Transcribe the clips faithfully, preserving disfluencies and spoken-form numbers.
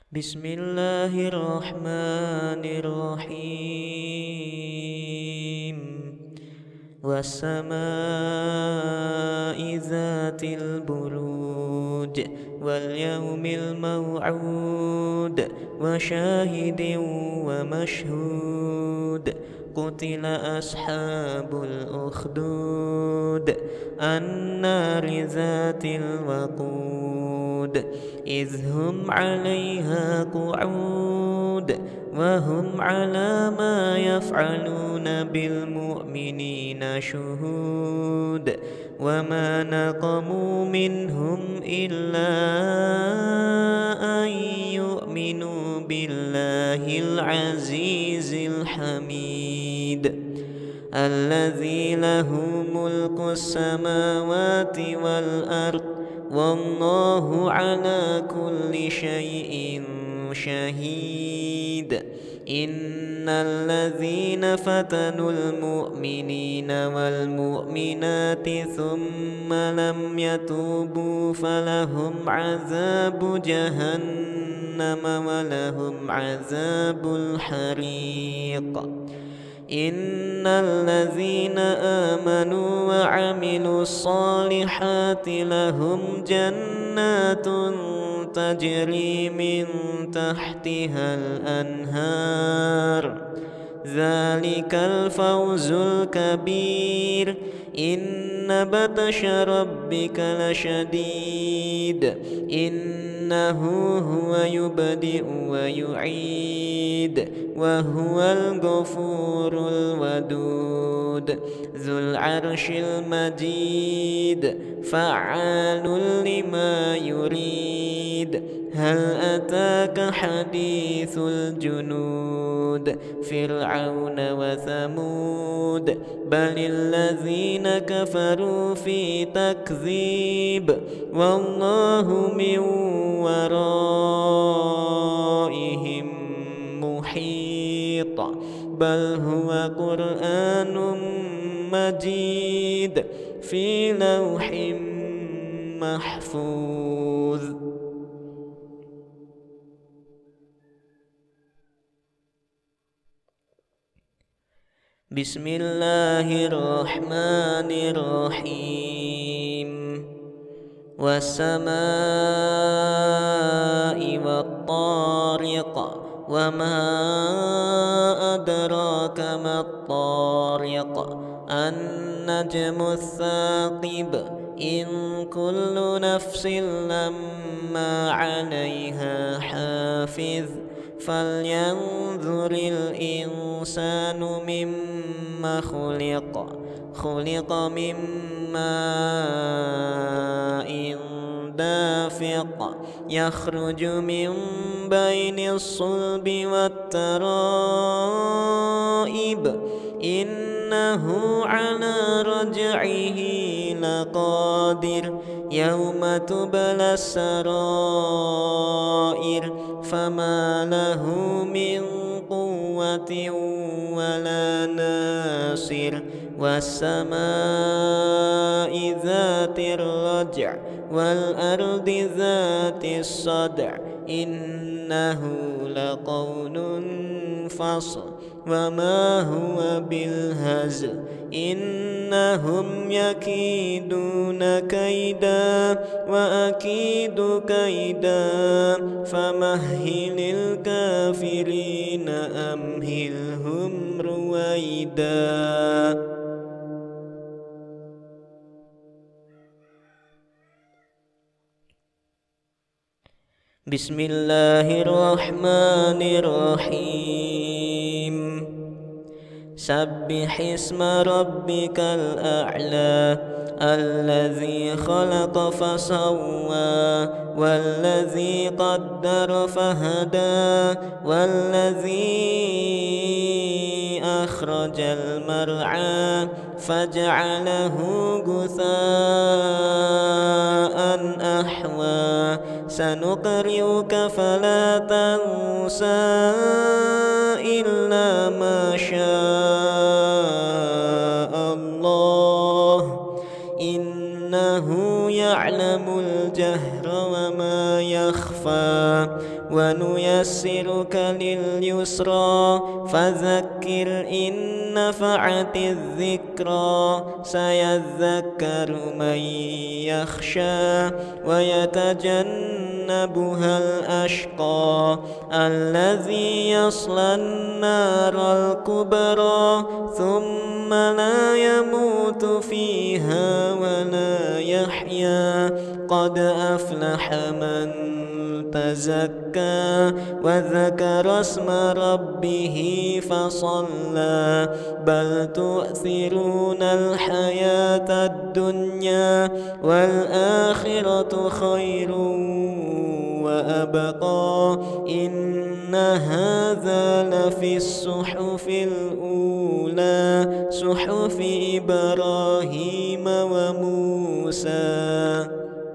Bismillahirrahmanirrahim. Wassama'i dzatil buruj wal yawmil maw'ud wa syahidin wa mashhud. Qutila ashabul ukhdud annari dzatil waqud idh hum 'alaiha qu'ud wa hum 'ala ma yaf'aluna bil mu'minina syuhud wa ma naqamu minhum illa an yu'minu billahil azizil hamid alladzi lahu mulkus samawati wal ard wallahu ala kulli syai'in syahid. Innal ladzina fatanul mu'minina wal mu'minati thumma lam yatubu falahum azabu jahannam wa lahum azabul hariq. Innal ladzina amanu wa 'amilus solihati lahum jannatun tajri min tahtihal anhar. Dzalikal fawzul kabir. Inna batasha rabbika lasyadid. Innahu huwa yubdi'u wa yu'id wa huwal ghafurul wadud dzul arsyil majid fa'alul lima yurid. Hal ataka hadithul junud fir'auna wa thamud balil ladzina kafaru fi takdzib wallahu min waraihim muhit bal huwa qur'anun majid fi lawhim mahfuz. Bismillahirrahmanirrahim. Wassama'i wattariq wa ma adraka mattariq an-najmu tsaqib in kullu nafsin lamma 'alaiha hafiz falyanzuril insanu mimma khuliqa khuliqa mimma in dafiq yakhruju min bainis sulbi wat taraib innahu ala raj'ihi laqadir yawma tubla sarair fama lahu min quwwatin wala nasir. Wassama'i dzatir raj' wal ardi dzatis sad' innahu laqawlun fasl wa ma huwa bil hazl innahum yakiduna kaida wa akidu kaida famahhilil kafirina amhilhum ruwaida. Bismillahirrahmanirrahim. Sabbihisma rabbikal a'la alladzi khalaqa fasawwa walladzi qaddara fahada walladzi akhrajal mar'a faj'alahu gutha'an ahwa sanuqri'uka fala tansa illa ma syaa Allah innahu ya'lamul jahra wa ma يخفى ونيسرك لليسرى فذكر إن نفعت الذكرى سيذكر من يخشى ويتجنبها الأشقى الذي يصلى النار الكبرى ثم لا يموت فيها ولا يحيا قد أفلح من تزكى وذكر اسم ربه فصلى بل تؤثرون الحياة الدنيا والآخرة خير وأبقى إن هذا لفي الصحف الأولى صحف إبراهيم وموسى.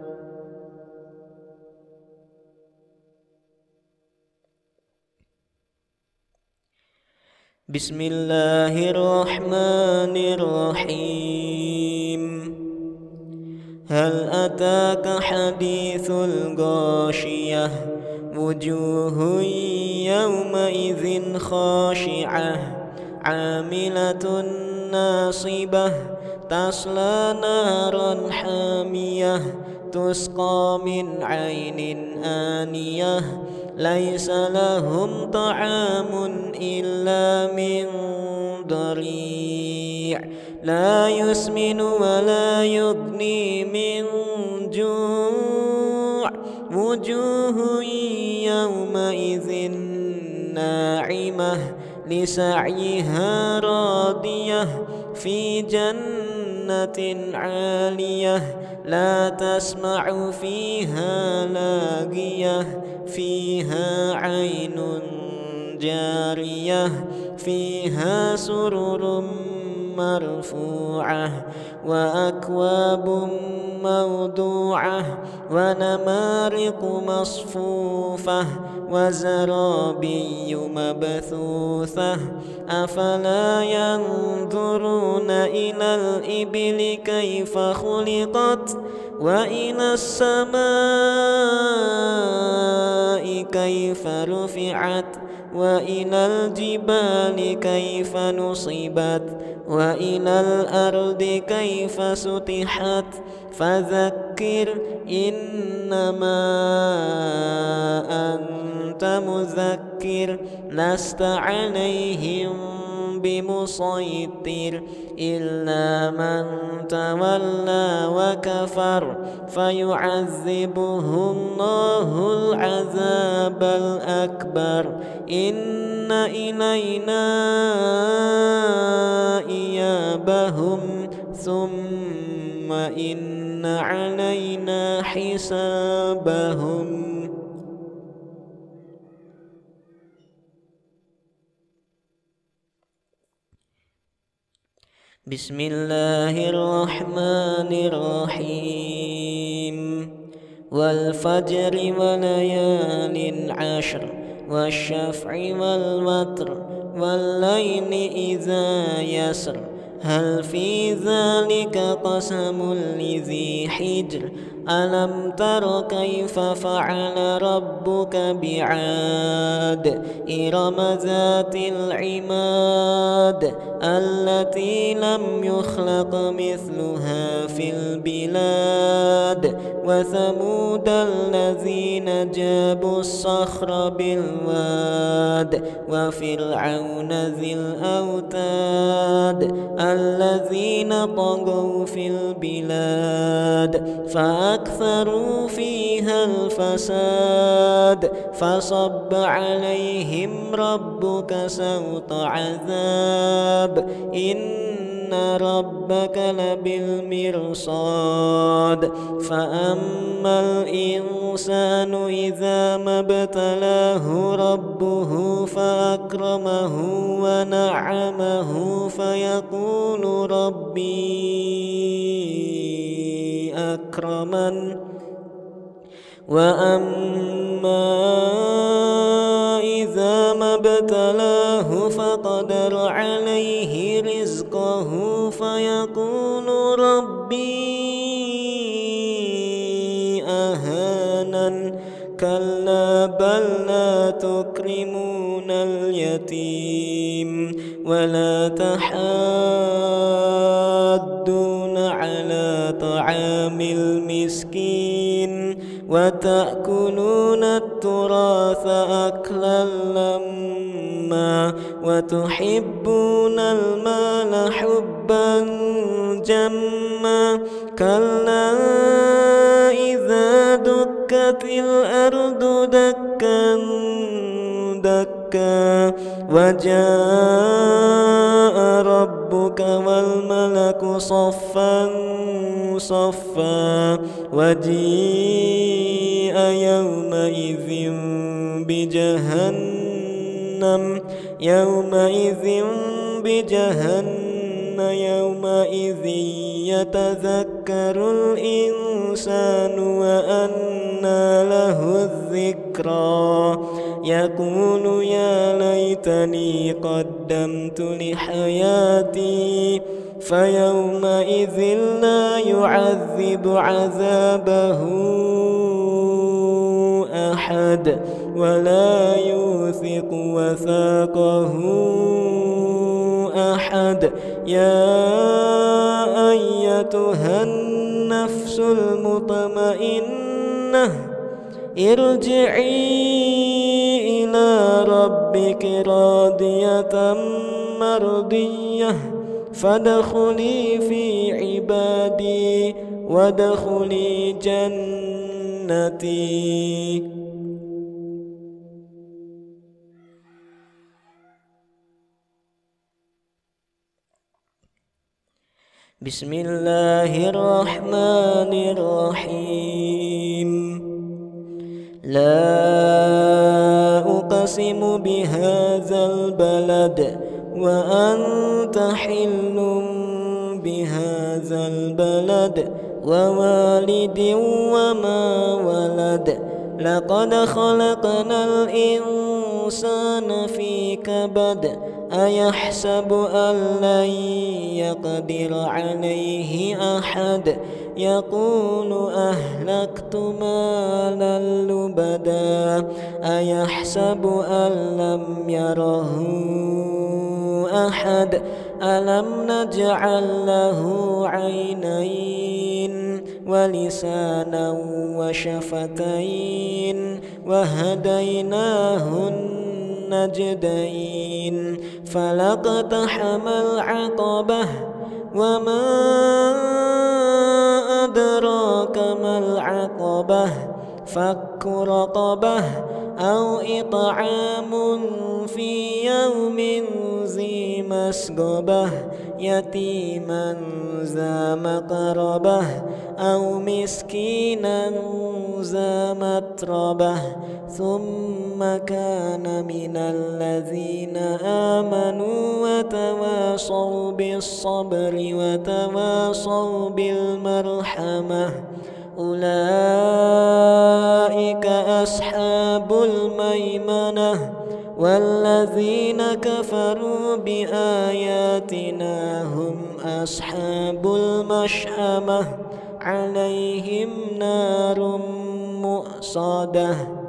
بسم الله الرحمن الرحيم هل أتاك حديث الغاشية وجوه يومئذ خاشعة عاملة ناصبة تصلى نارا حامية تسقى من عين آنية ليس لهم طعام إلا من ضريع لا يسمن ولا يغني من جوع وجوه يومئذ ناعمة لسعيها راضية في جنة عالية لا تسمع فيها لاغية فيها عين جارية فيها سرر مرفوعة وأكواب موضوعة ونمارق مصفوفة وزرابي مبثوثة أفلا ينظرون إلى الإبل كيف خلقت وإلى السماء كيف رفعت وإلى الجبال كيف نصبت وإلى الأرض كيف سطحت فذكر إنما أنت مذكر لست عليهم بمسيطر إلا من تولى وكفر فيعذبه الله العذاب الأكبر إن إلينا إيابهم ثم إن علينا حسابهم. بسم الله الرحمن الرحيم والفجر وليال عشر والشفع والوتر والليل إذا يسر هل في ذلك قسم لذي حجر ألم تر كيف فعل ربك بعاد إرم ذات العماد التي لم يخلق مثلها في البلاد وثمود الذين جابوا الصخر بالواد وفرعون ذي الأوتاد الذين طغوا في البلاد فأكثروا فيها الفساد فصب عليهم ربك سوط عذاب إن ربك لبالمرصاد فأما الإنسان إذا ما ابتلاه ربه فأكرمه ونعمه فيقول ربي أكرمن وأما إذا ما ابتلاه فقدر عليه رزقه فيقول ربي أهانن بل لا تكرمون اليتيم ولا تحاضون على طعام المسكين وتأكلون التراث أكلا لما وتحبون المال حبا جما كلا إذا دكت الأرض دكا دكا وجاء ربك والملك صفا صفا وجيء يومئذ بجهنم يومئذ بجهنم يومئذ يتذكر الإنسان وأنى له الذكرى يقول يا ليتني قدمت لحياتي فيومئذ لا يعذب عذابه أحد ولا يوثق وثاقه أحد يا أيتها النفس المطمئنة ارجعي إلى ربك راضية مرضية فادخلي في عبادي وادخلي جنتي. بسم الله الرحمن الرحيم لا أقسم بهذا البلد وأنت حل بهذا البلد ووالد وما ولد لقد خلقنا الإنسان في كبد أيحسب أن لن يقدر عليه أحد يقول أهلكت مالا لبدا أيحسب أن لم يره أحد ألم نجعل له عينين ولسانا وشفتين وهديناه النجدين فلاقتحم العقبة وما أدراك ما العقبة فك رقبة أو إطعام في يوم ذي مسغبة يتيما ذا مقربة أو مسكينا ذا متربة ثم كان من الذين آمنوا وتواصوا بالصبر وتواصوا بالمرحمة أولئك أصحاب الميمنة والذين كفروا بآياتنا هم أصحاب المشأمة عليهم نار مؤصدة.